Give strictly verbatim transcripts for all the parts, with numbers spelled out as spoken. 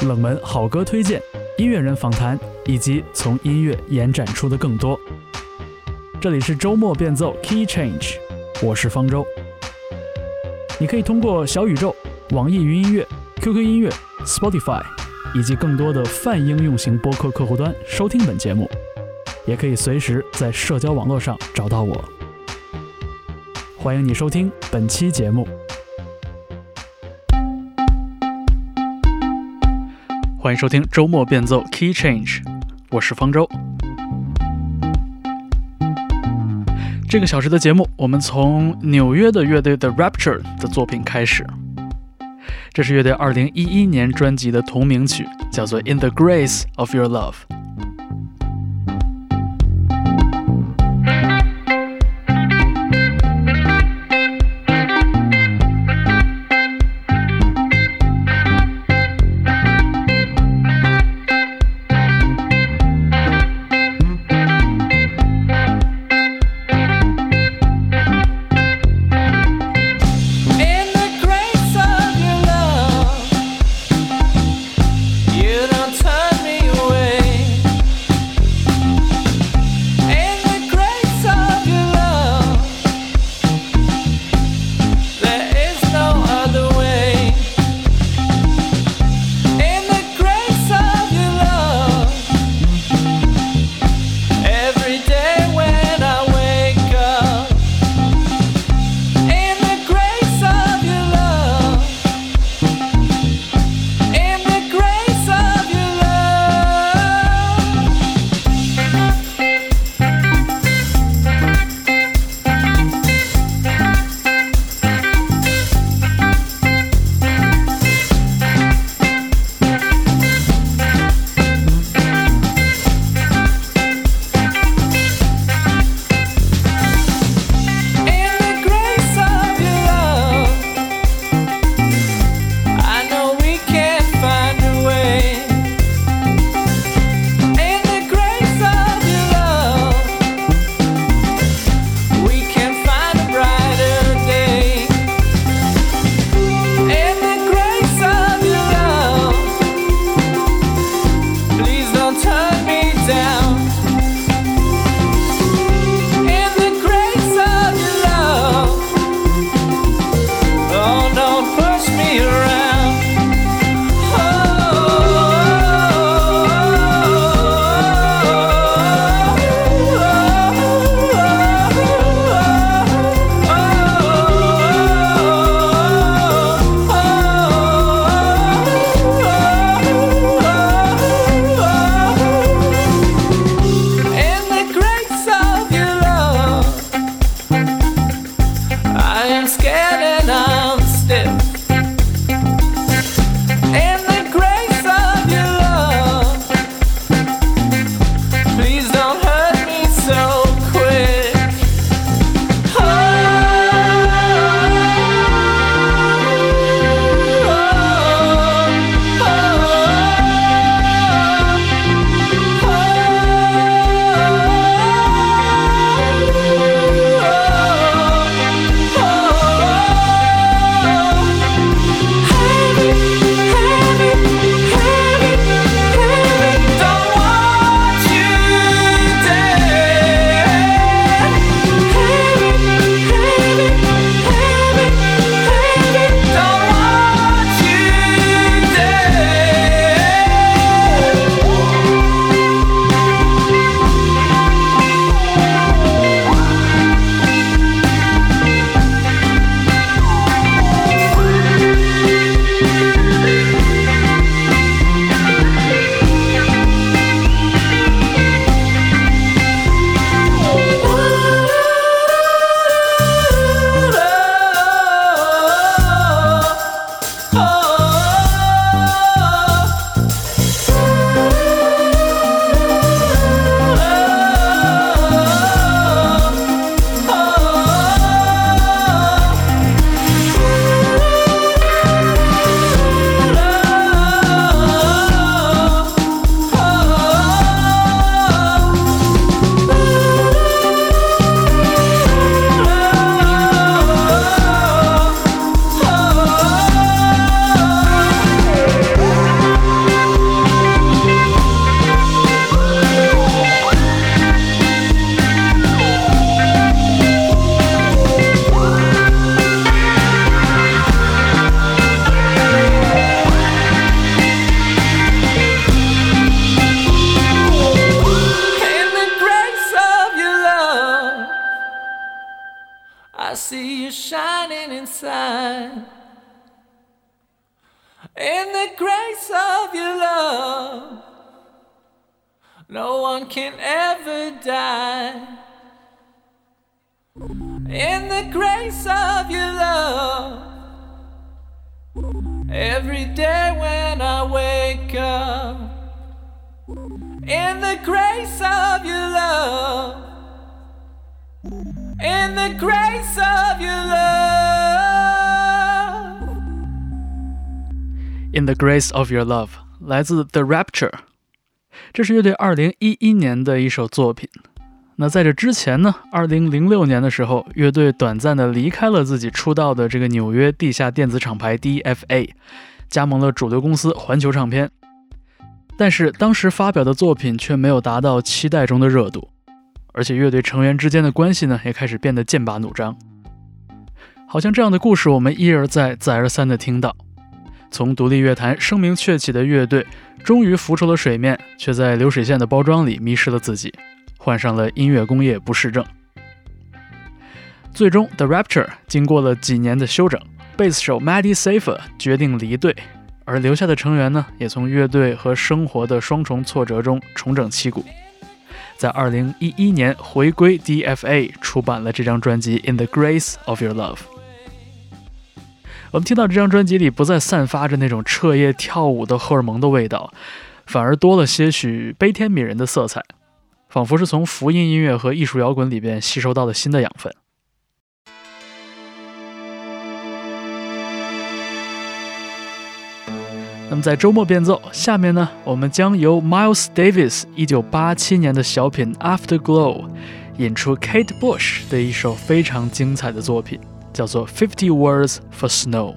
冷门好歌推荐、音乐人访谈，以及从音乐延展出的更多。这里是周末变奏 Key Change， 我是方舟。你可以通过小宇宙、网易云音乐、Q Q 音乐、Spotify 以及更多的泛应用型播客客户端收听本节目，也可以随时在社交网络上找到我。欢迎你收听本期节目。欢迎收听周末变奏 Key Change， 我是方舟。这个小时的节目，我们从纽约的乐队 The Rapture 的作品开始。这是乐队二零一一年专辑的同名曲，叫做 In the Grace of Your Love。 You don't turn me away. In the grace of your love, no one can ever die. In the grace of your love, every day when I wake up. In the grace of your love, in the grace of your love. In the grace of your love 来自 The Rapture， 这是乐队二零一一年的一首作品。那在这之前呢，二零零六年的时候，乐队短暂的离开了自己出道的这个纽约地下电子厂牌 D F A， 加盟了主流公司环球唱片。但是当时发表的作品却没有达到期待中的热度，而且乐队成员之间的关系呢，也开始变得剑拔弩张。好像这样的故事我们一而再再而三的听到，从独立乐坛声名鹊起的乐队终于浮出了水面，却在流水线的包装里迷失了自己，患上了音乐工业不适症。最终 The Rapture 经过了几年的休整，贝斯手 Maddie Safer 决定离队，而留下的成员呢，也从乐队和生活的双重挫折中重整旗鼓，在二零一一年回归 D F A， 出版了这张专辑 In the Grace of Your Love。 我们听到这张专辑里不再散发着那种彻夜跳舞的荷尔蒙的味道，反而多了些许悲天悯人的色彩，仿佛是从福音音乐和艺术摇滚里边吸收到了新的养分。那么在周末变奏，下面呢，我们将由 Miles Davis 一九八七年的小品 Afterglow 引出 Kate Bush 的一首非常精彩的作品，叫做 Fifty Words for Snow。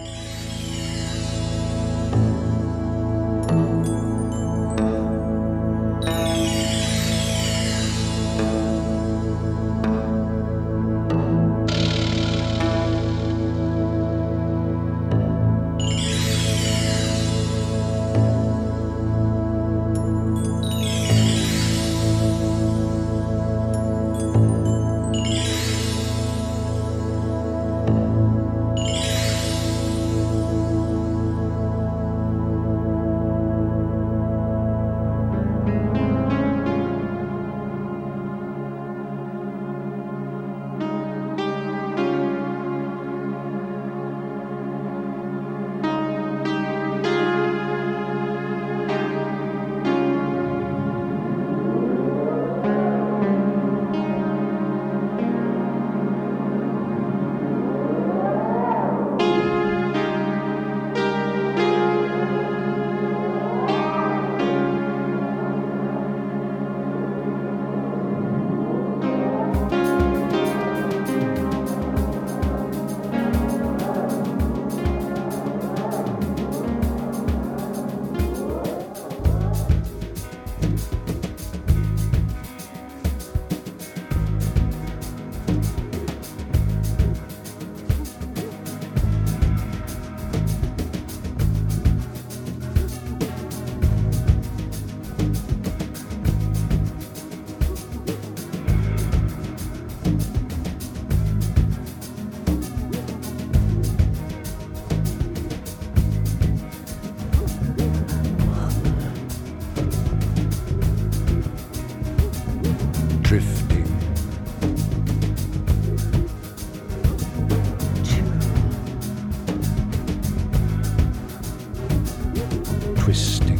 Twisting,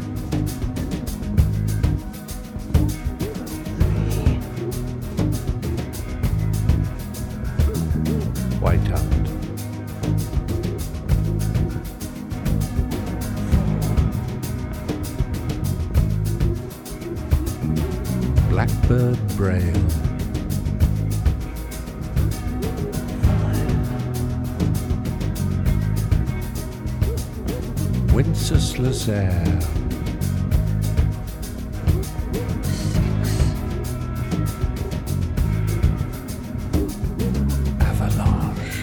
whiteout, blackbird braille, Wenceslas air, avalanche,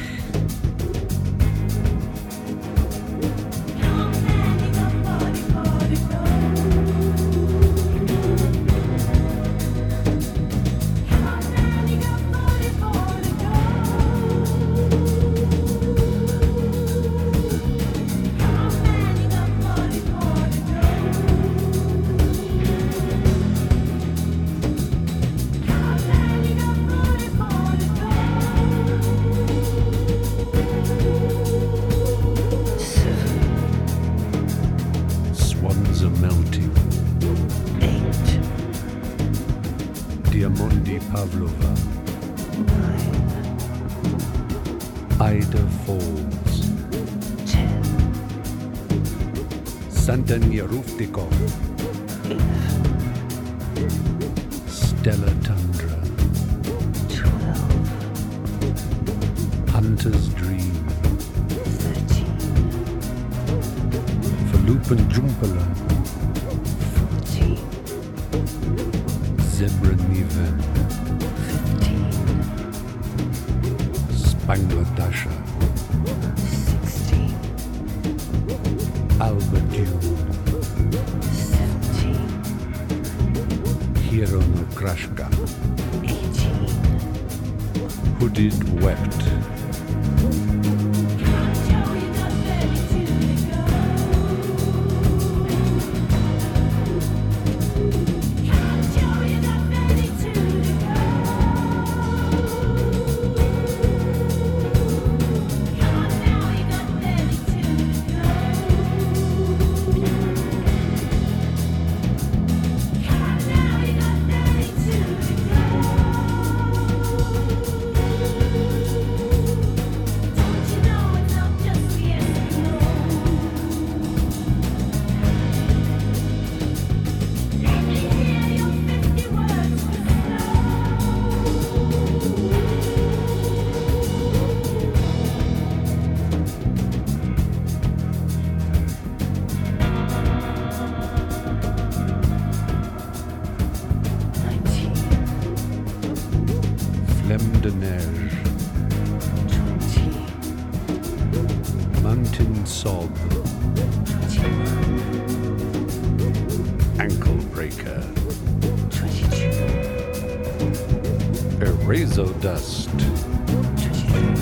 Pavlova. Ida Falls. ten. Santanyaruftikov. Stella Tundra. twelve. Hunter's Dream. thirteen. Falupan Jumpala. fourteen. Zebra Niven. fifteen. Spangladasha. sixteen. Alba Dune. seventeen. Hero no Krashka. eighteen. Hooded Wept. Flemme de Neige. twenty. Mountain Sob. twenty-one. Ankle Breaker. twenty-two. Erazo Dust. twenty-three.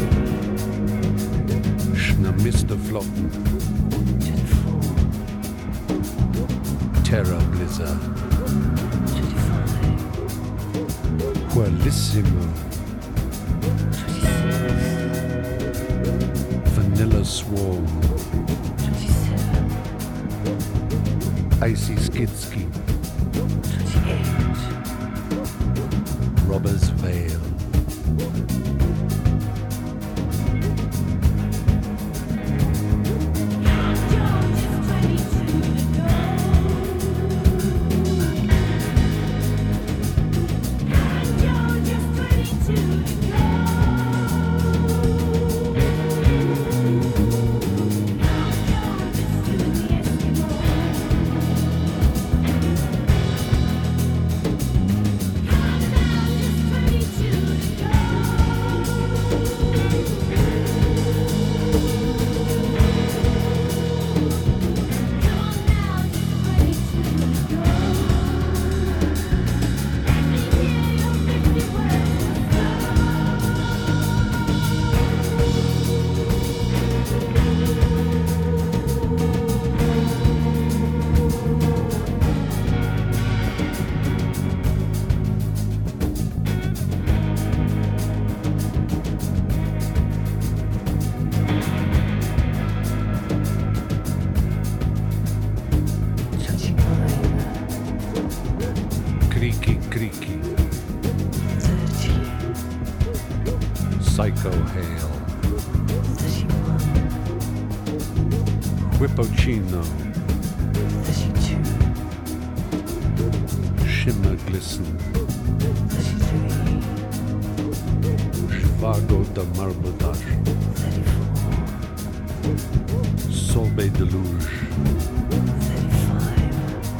Schnamisterflotten. twenty-four. Terra Blizzard. twenty-five. Qualissimo. twenty-six. Vanilla Swarm. twenty-seven. Icy Skidski. twenty-eight. Robber's Veil. Creaky Creaky. thirty. Psycho Hail. thirty-one. Whippocino. thirty-two. Shimmer Glisten. thirty-three. Zhivago da Marbotage. thirty-four. Sorbet Deluge. thirty-five.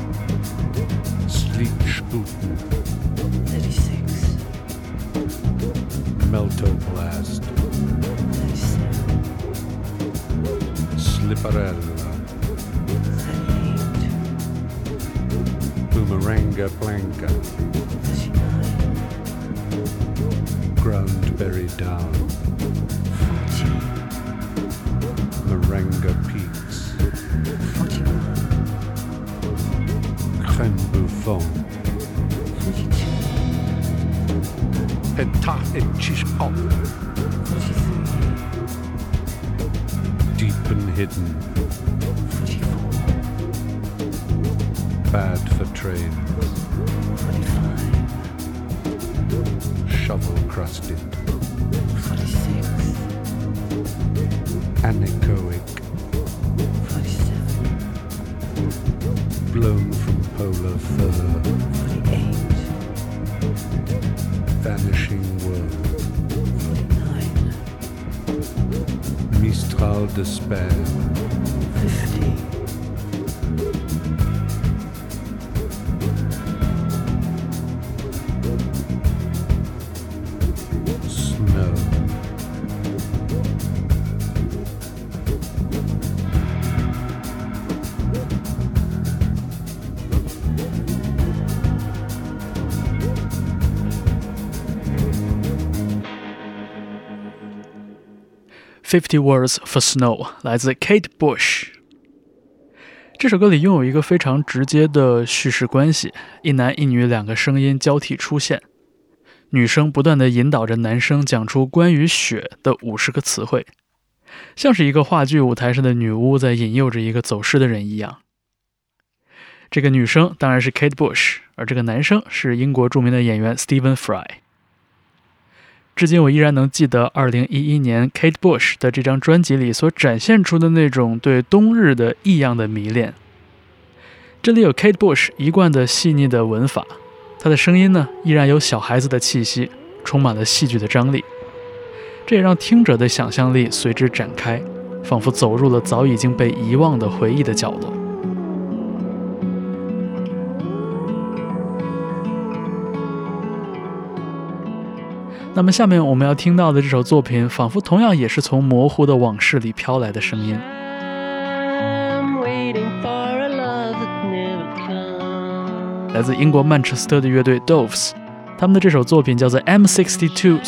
Sleep Sputen. thirty-six. Melto Blast. thirty-seven. Slipperella. thirty-eight. Boomeranga Blanca. thirty-nine. Groundberry Down. forty. Maranga Peaks. forty-one. Crème Buffon. forty-two. Petah et Chishkop. forty-three. Deep and Hidden. forty-four. Bad for Trains. forty-five. shovel-crusted, forty-six, anechoic, forty-seven, blown from polar fur, forty-eight, vanishing world, forty-nine, Mistral despair, fifty, snow, Fifty Words for Snow 来自 Kate Bush。这首歌里拥有一个非常直接的叙事关系，一男一女两个声音交替出现，女生不断地引导着男生讲出关于雪的五十个词汇，像是一个话剧舞台上的女巫在引诱着一个走失的人一样。这个女生当然是 Kate Bush， 而这个男生是英国著名的演员 Stephen Fry。至今我依然能记得二零一一年 Kate Bush 的这张专辑里所展现出的那种对冬日的异样的迷恋。这里有 Kate Bush 一贯的细腻的文法，她的声音呢依然有小孩子的气息，充满了戏剧的张力，这也让听者的想象力随之展开，仿佛走入了早已经被遗忘的回忆的角落。那么下面我们要听到的这首作品，仿佛同样也是从模糊的往事里飘来的声音。来自英国曼彻斯特的乐队 Doves， 他们的这首作品叫做 M sixty-two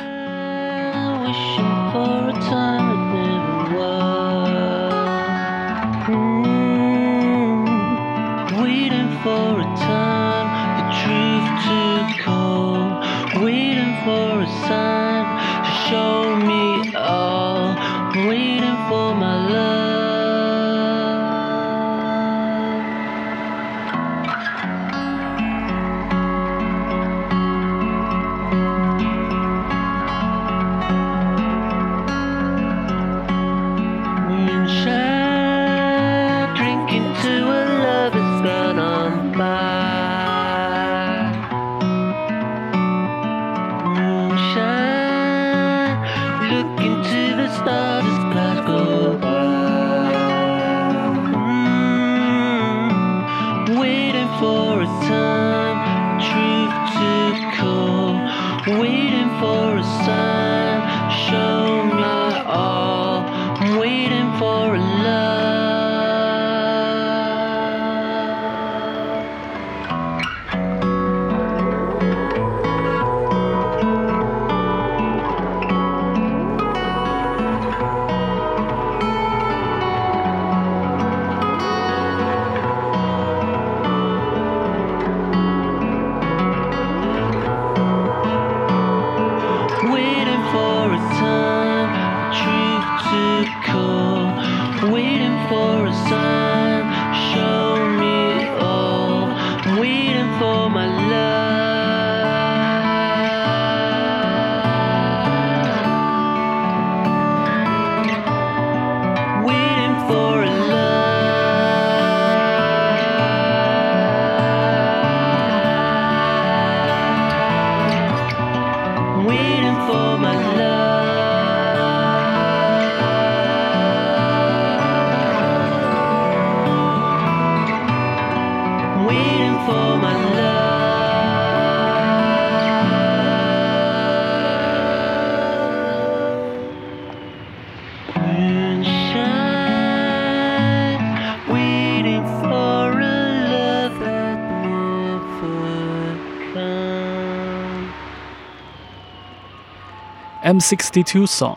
Song。M sixty-two Song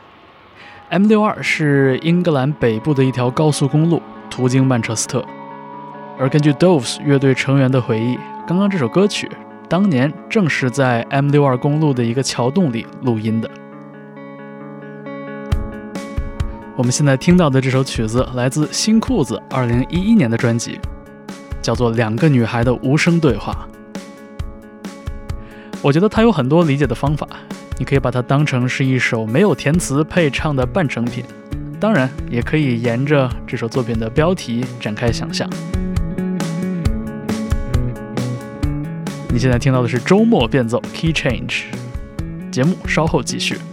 M 六二 是英格兰北部的一条高速公路，途经曼彻斯特。而根据 Doves 乐队成员的回忆，刚刚这首歌曲当年正是在 M 六二 公路的一个桥洞里录音的。我们现在听到的这首曲子来自新裤子二零一一年的专辑，叫做《两个女孩的无声对话》。 我觉得它有很多理解的方法，你可以把它当成是一首没有填词配唱的半成品，当然也可以沿着这首作品的标题展开想象。你现在听到的是周末变奏 Key Change， 节目稍后继续。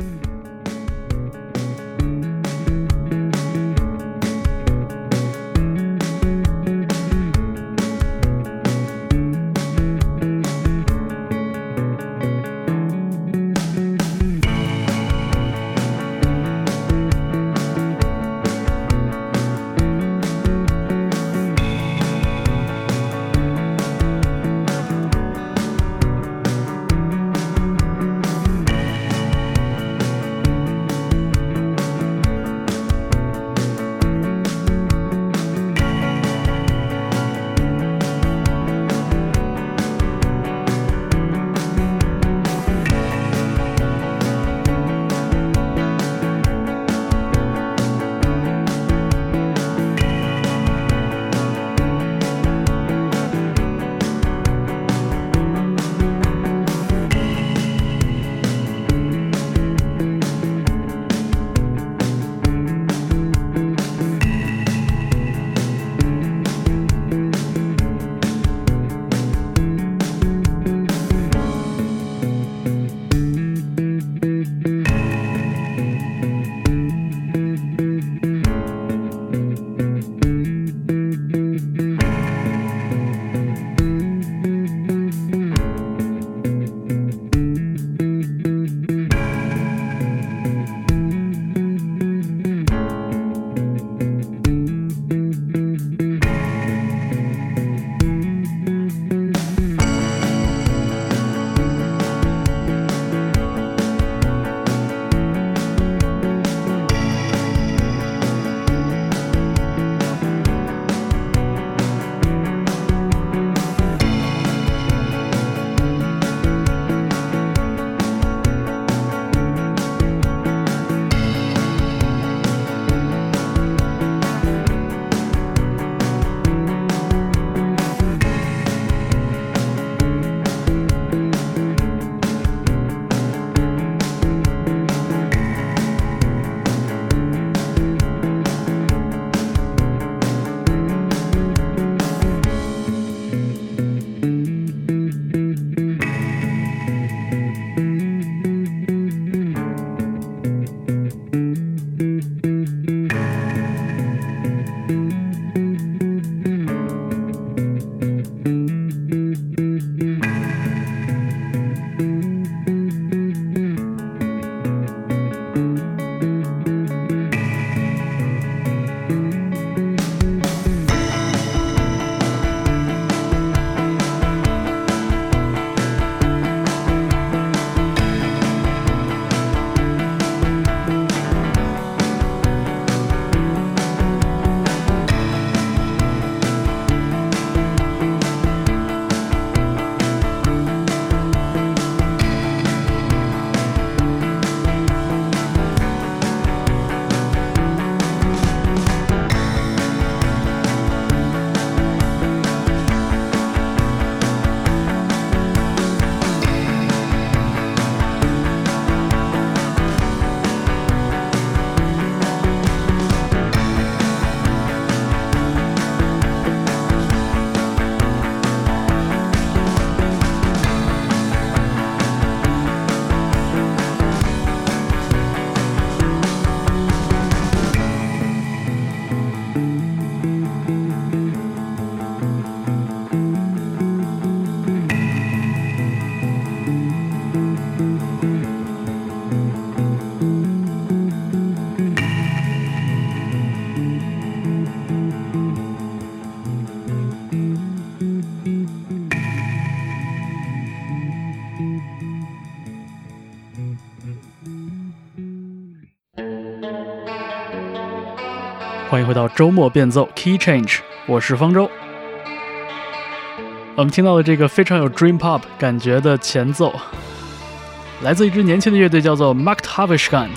欢迎回到周末变奏 Key Change， 我是方舟。我们听到的这个非常有 Dream Pop 感觉的前奏，来自一支年轻的乐队，叫做 Machthavishkan。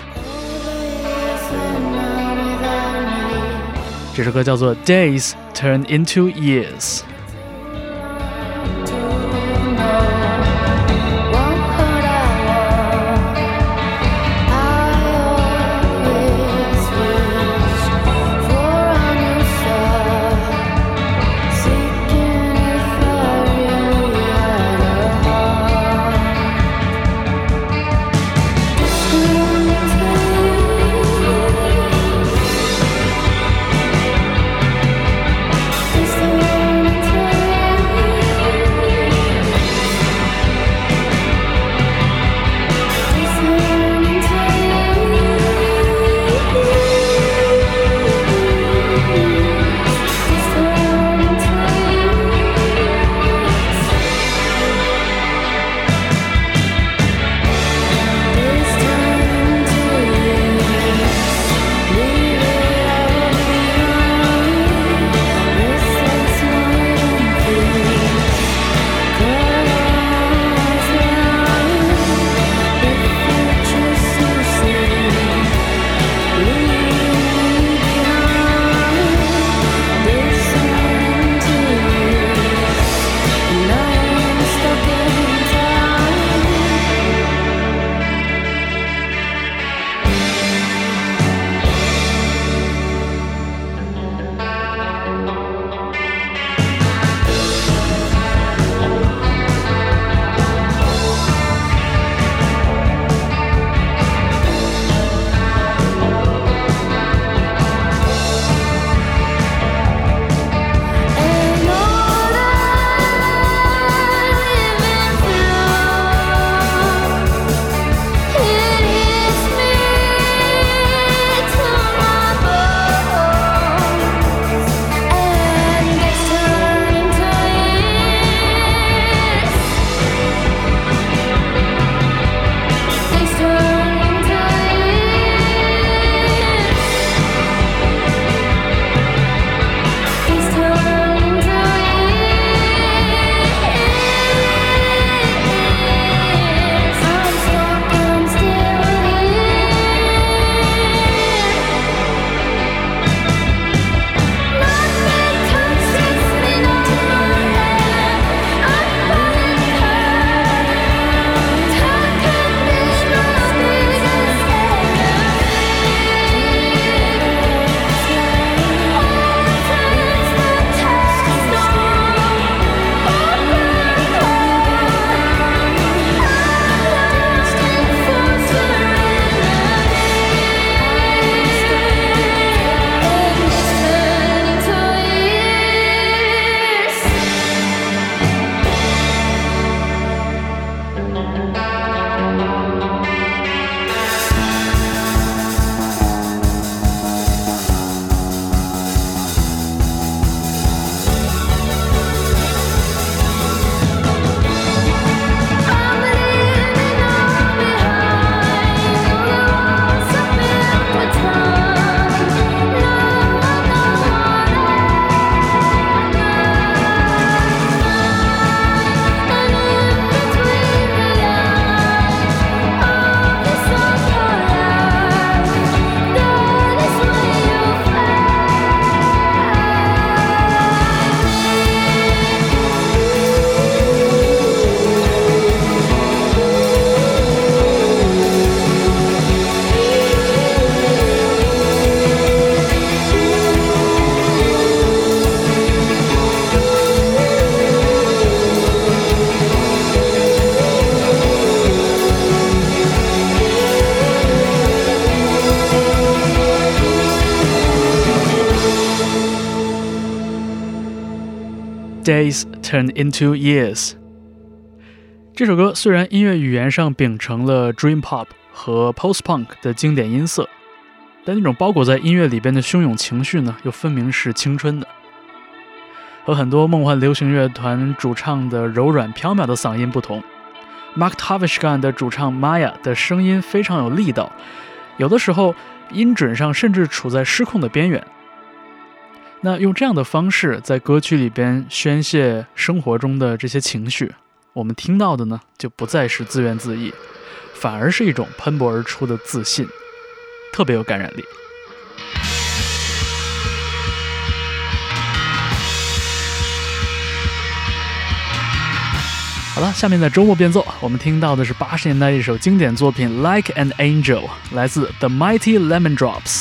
这首歌叫做 Days Turn Into Years。 Days Turn Into Years。 这首歌虽然音乐语言上秉承了 Dream Pop 和 Post Punk 的经典音色，但那种包裹在音乐里边的汹涌情绪呢，又分明是青春的。和很多梦幻流行乐团主唱的柔软飘渺的嗓音不同， Mark Tavishgan 的主唱 Maya 的声音非常有力道，有的时候音准上甚至处在失控的边缘。那用这样的方式在歌曲里边宣泄生活中的这些情绪，我们听到的呢，就不再是自怨自艾，反而是一种喷薄而出的自信，特别有感染力。好了，下面在周末变奏，我们听到的是八十年代一首经典作品 Like an Angel， 来自 The Mighty Lemon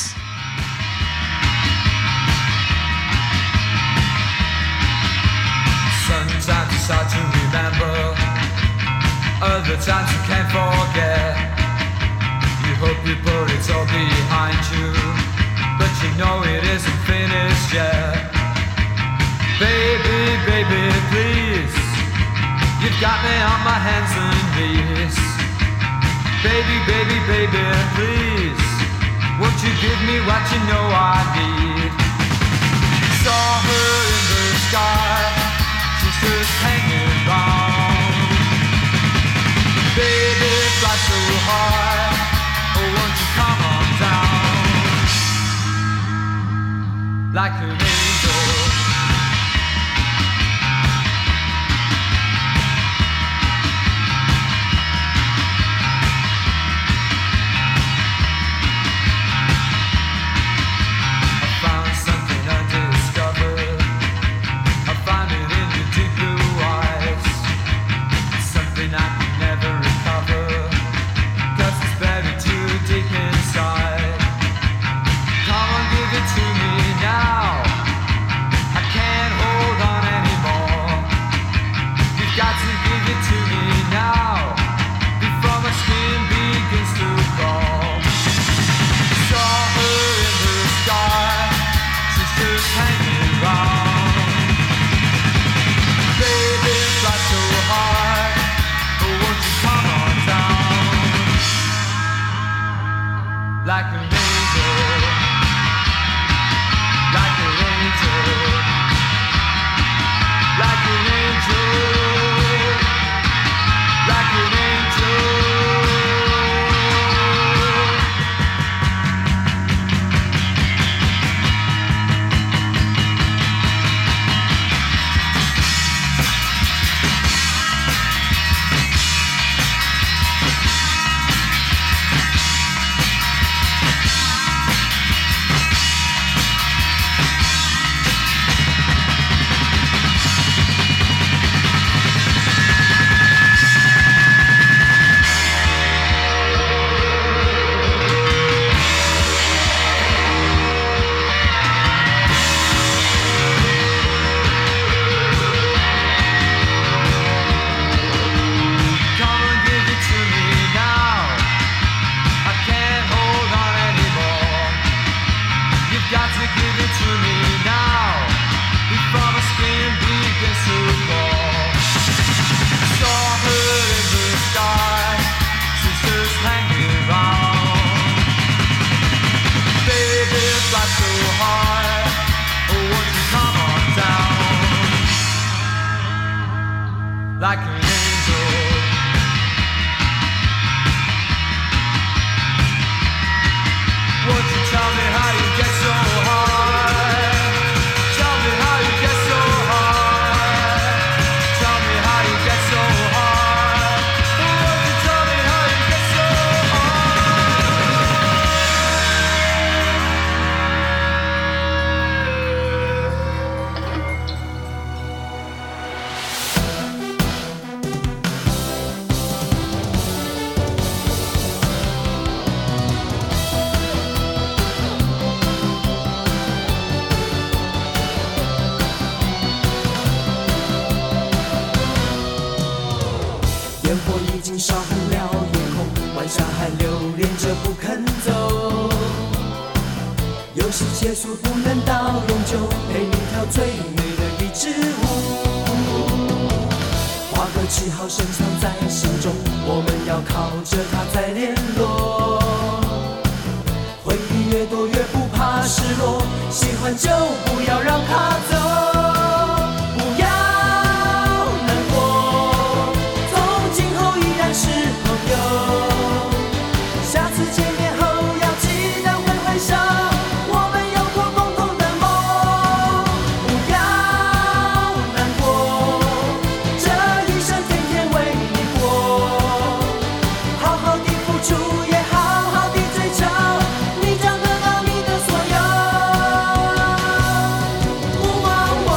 Drops。Sometimes it's hard to remember, other times you can't forget. You hope you put it all behind you, but you know it isn't finished yet. Baby, baby, please, you've got me on my hands and knees. Baby, baby, baby, please, won't you give me what you know I need? Saw her in the sky, just hanging around. Baby, fly so high, oh won't you come on down? Like an angel. I found something undiscovered, I found it in your deep blue eyes, something I can never recover, cause it's buried too deep inside. Come on, give it to me now, I can't hold on anymore. You've got to give it to me now, before my skin begins to crawl. Saw her in the sky, she's just hanging around. Baby, fly so high, oh won't you come on down? Like an angel, like an angel, like an angel, like an angel. Come on, give it to me now, I can't hold on anymore. You've got to give it to me now, before my skin begins to fall. Saw her in the sky, she's just hanging around. Baby, fly so high, oh won't you come on down? Like an angel. Won't you tell me how you get so high? Tell me how you get so high. Tell me how you get so high. Won't you tell me how you get so 烟火已经烧红了夜空，晚霞还留恋着不肯走。游戏结束不能到永久，陪你跳最美的一支舞。 记号深藏在心中，我们要靠着它再联络。回忆越多越不怕失落，喜欢就不要让它走，不要难过，从今后依然是朋友。下次见面后要记得挥挥手，我们有过共同的梦。不要难过，这一生天天为你过，好好的付出也好好的追求，你将得到你的所有。哦哦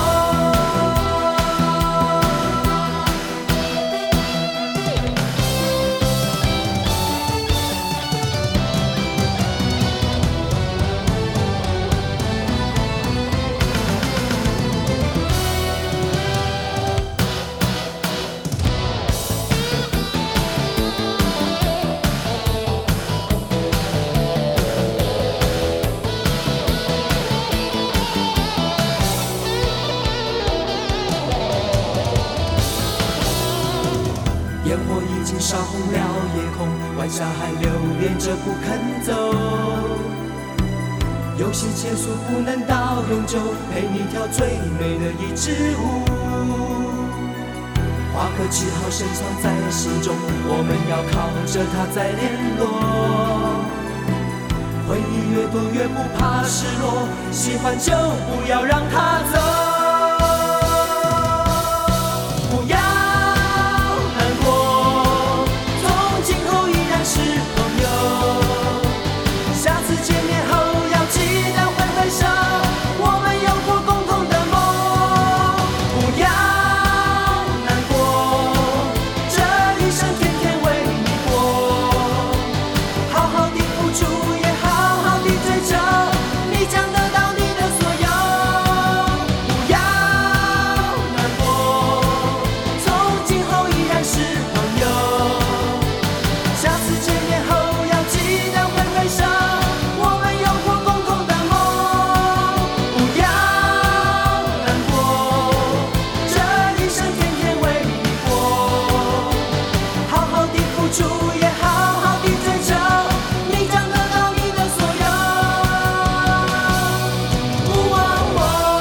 烟火已经烧红了夜空，晚霞还留恋着不肯走。有些结束不能到永久，陪你跳最美的一支舞。画个记号深藏在心中，我们要靠着它再联络。回忆越多越不怕失落，喜欢就不要让它走。不要难过，从今后依然是朋友。下次见面后要记得挥挥手，我们有过共同的梦。不要难过，这一生天天为你过，好好的付出也好好的追求，你将得到你的所有。不要难过，从今后依然是朋友。下次见面后要记得挥挥手，我们有过共同的梦。不要难过，这一生天天为你过，好好的付出也好好的追求，你将得到你的所有。哦哦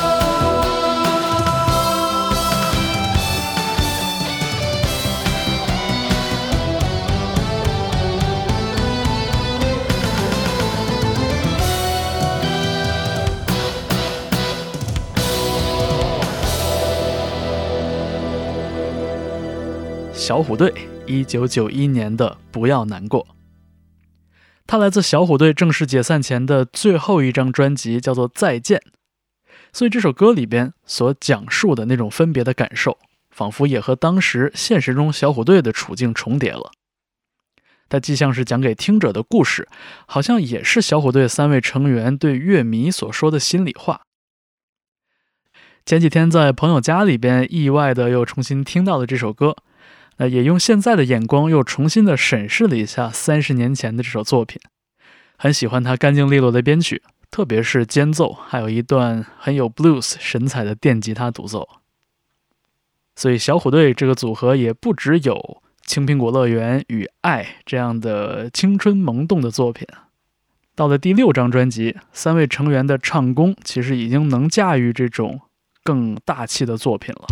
小虎队一九九一年的《不要难过》，它来自小虎队正式解散前的最后一张专辑，叫做《再见》。所以这首歌里边所讲述的那种分别的感受，仿佛也和当时现实中小虎队的处境重叠了。它既像是讲给听者的故事，好像也是小虎队三位成员对乐迷所说的心里话。前几天在朋友家里边意外的又重新听到了这首歌，那也用现在的眼光又重新的审视了一下三十年前的这首作品，很喜欢它干净利落的编曲，特别是间奏，还有一段很有 blues 神采的电吉他独奏。所以小虎队这个组合也不只有青苹果乐园与爱这样的青春萌动的作品，到了第六张专辑，三位成员的唱功其实已经能驾驭这种更大气的作品了。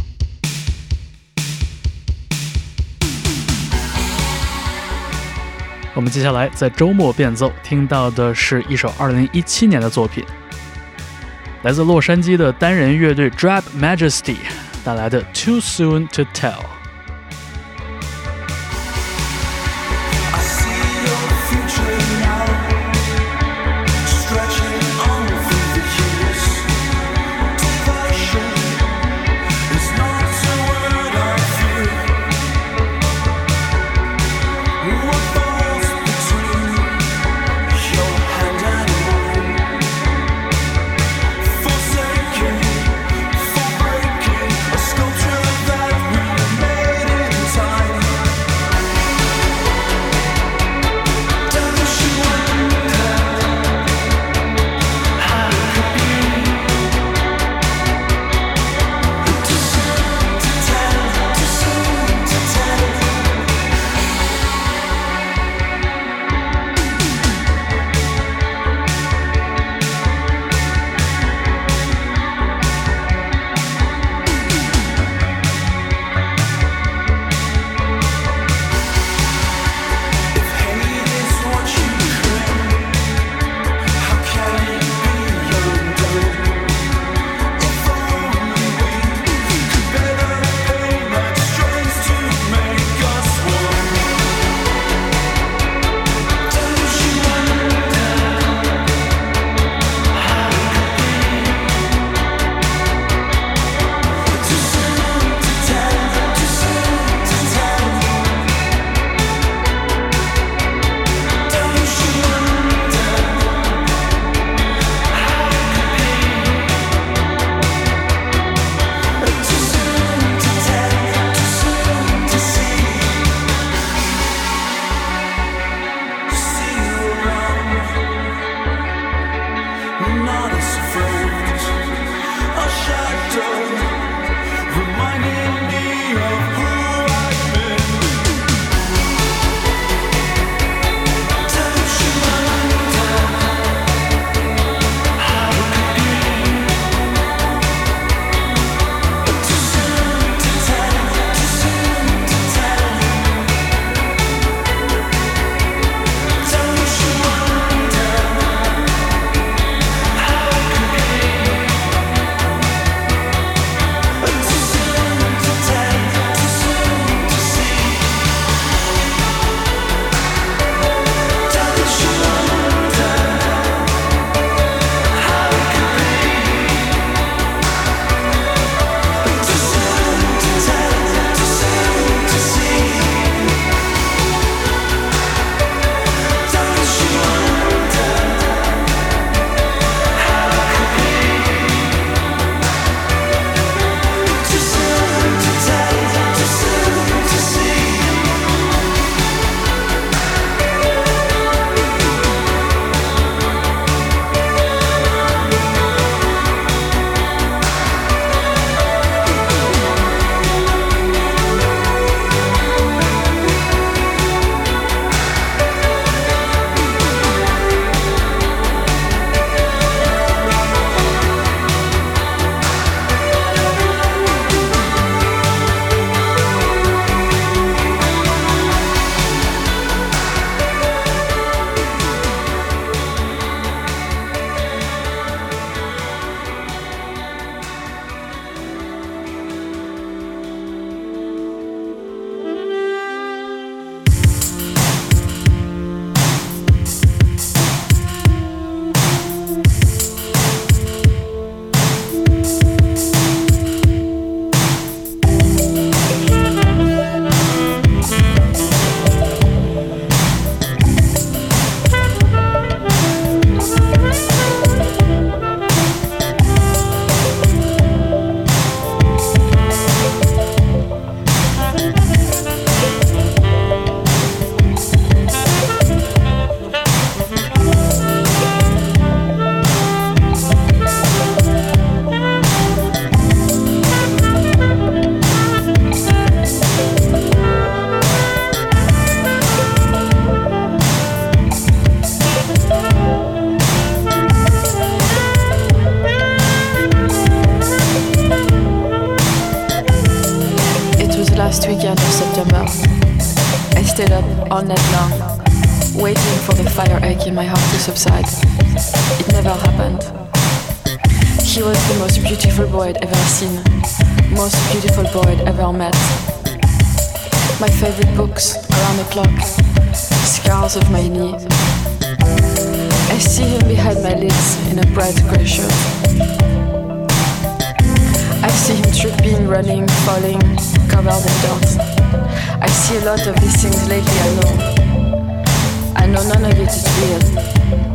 我们接下来在周末变奏听到的是一首二零一七年的作品，来自洛杉矶的单人乐队 Drab Majesty 带来的 Too Soon to Tell。 Forsaken, for breaking, a sculpture that we made. weekend of September. I stayed up all night long, waiting for the fire ache in my heart to subside. It never happened. He was the most beautiful boy I'd ever seen, most beautiful boy I'd ever met. My favorite books, Around the Clock, Scars of My Knee. I see him behind my lids in a bright grey shirt. I see him tripping, running, falling, covered in dirt. I see a lot of these things lately, I know. I know none of it is real.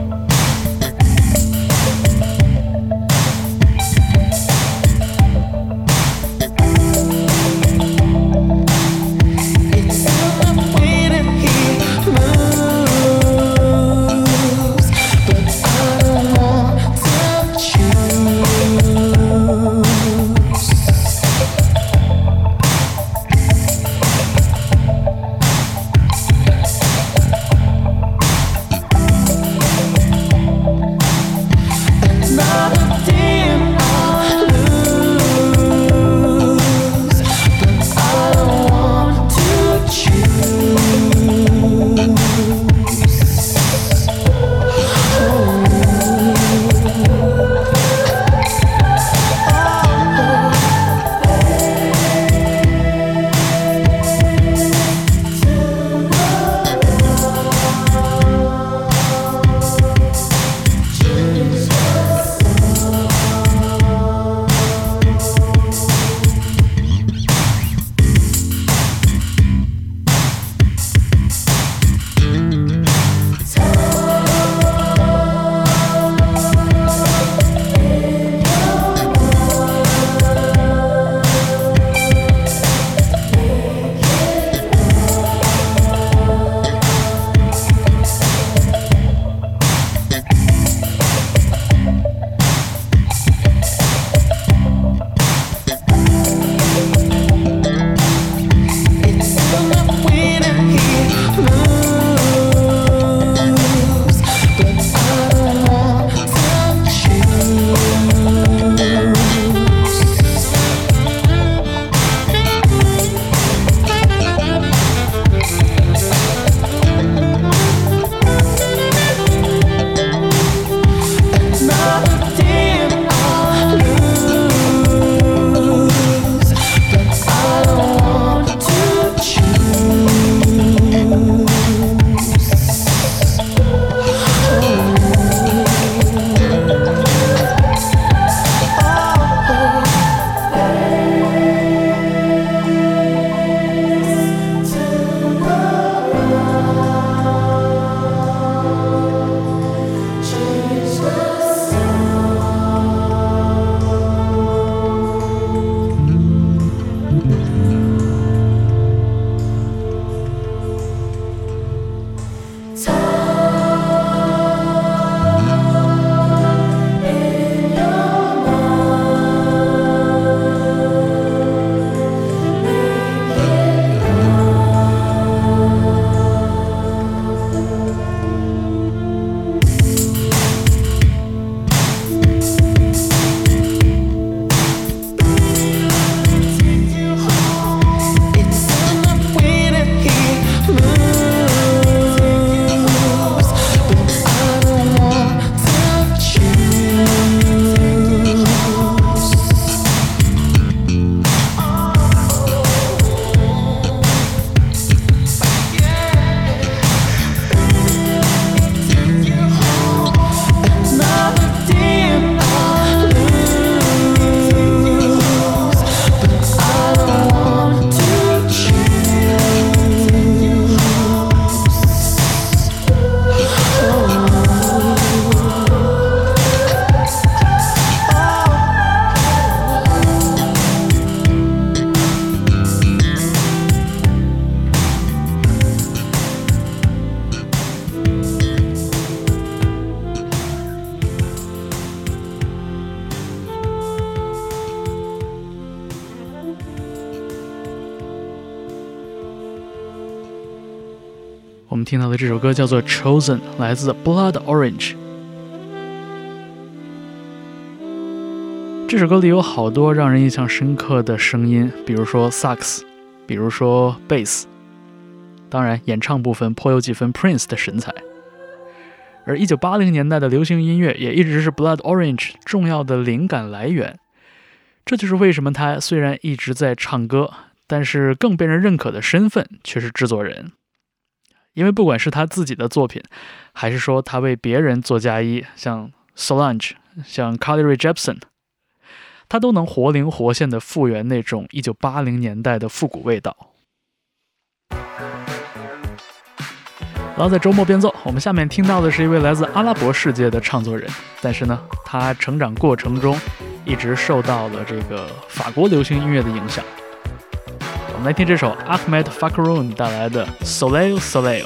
我们听到的这首歌叫做 Chosen， 来自 Blood Orange。这首歌里有好多让人印象深刻的声音，比如说萨克斯， 比如说贝斯。当然，演唱部分颇有几分 Prince 的神采。而一九八零年代的流行音乐也一直是 Blood Orange 重要的灵感来源。这就是为什么他虽然一直在唱歌，但是更被人认可的身份却是制作人。因为不管是他自己的作品，还是说他为别人做嫁衣，像 Solange 像 Carly Rae Jepsen， 他都能活灵活现地复原那种一九八零年代的复古味道。然后在周末变奏，我们下面听到的是一位来自阿拉伯世界的唱作人，但是呢，他成长过程中一直受到了这个法国流行音乐的影响。我们来听这首 Ahmed Fakhroun 带来的 Soleil Soleil。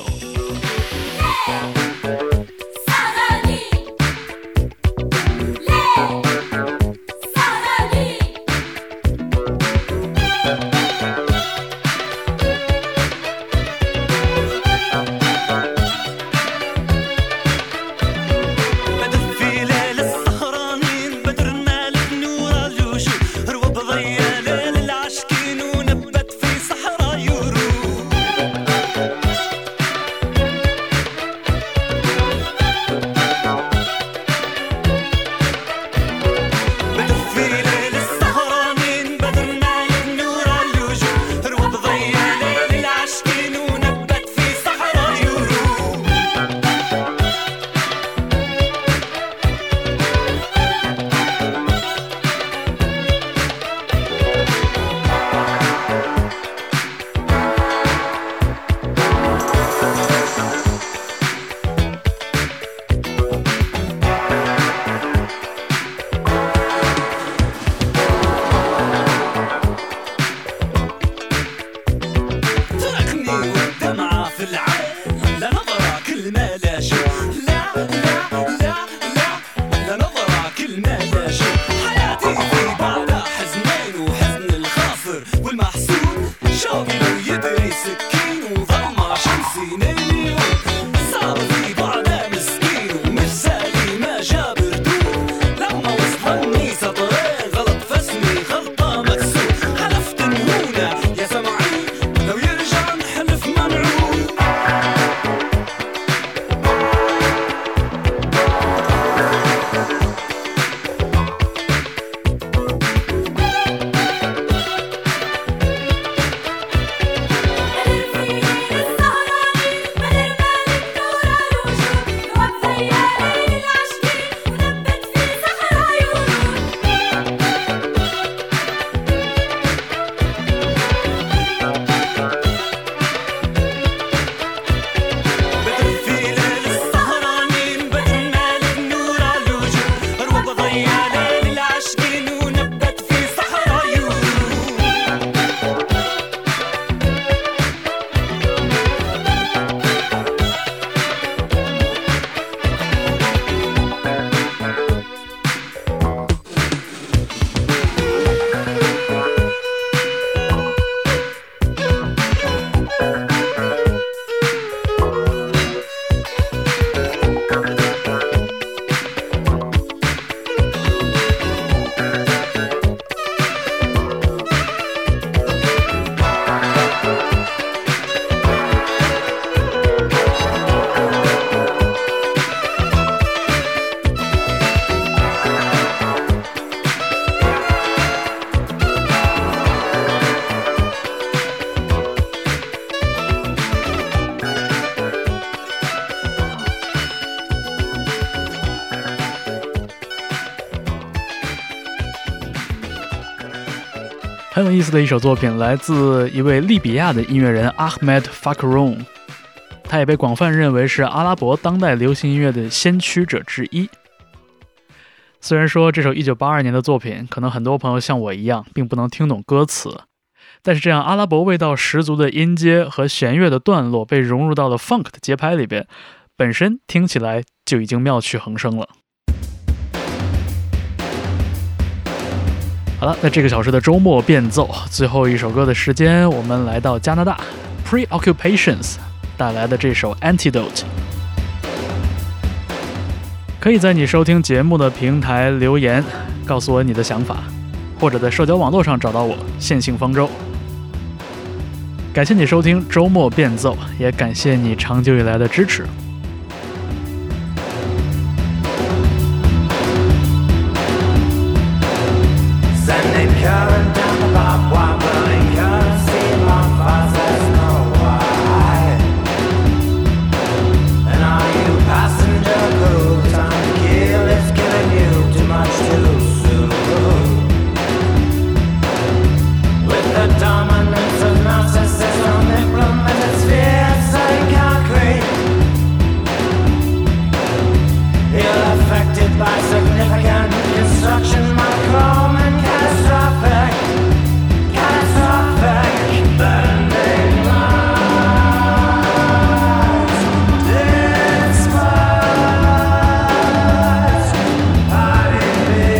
很有意思的一首作品，来自一位利比亚的音乐人 Ahmed Fakhroun， 他也被广泛认为是阿拉伯当代流行音乐的先驱者之一。虽然说这首一九八二年的作品，可能很多朋友像我一样并不能听懂歌词，但是这样阿拉伯味道十足的音阶和弦乐的段落被融入到了 funk 的节拍里边，本身听起来就已经妙趣横生了。好了，在这个小时的周末变奏最后一首歌的时间，我们来到加拿大 Preoccupations 带来的这首 Antidote。 可以在你收听节目的平台留言告诉我你的想法，或者在社交网络上找到我，线性方舟。 感谢你收听周末变奏，也感谢你长久以来的支持。 Sending current down the barbed wire, burning currency in my fires, there's no why. And are you passenger crew? Time to kill, it's killing you too much too soon. With the dominance of narcissism implemented spheres in concrete, you're affected by significant construction, monochrome and catastrophic, catastrophic bending lines. Despise, hiding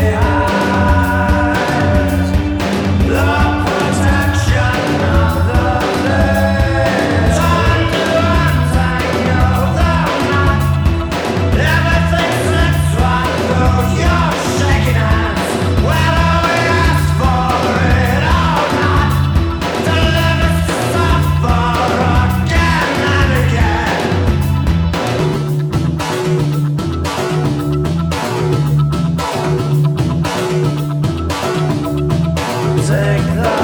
behind the protection of the veil. Time to untangle the knot. Everything slips right through your shaking hands. Whether we ask for it or not, to live is to suffer again and again. Take the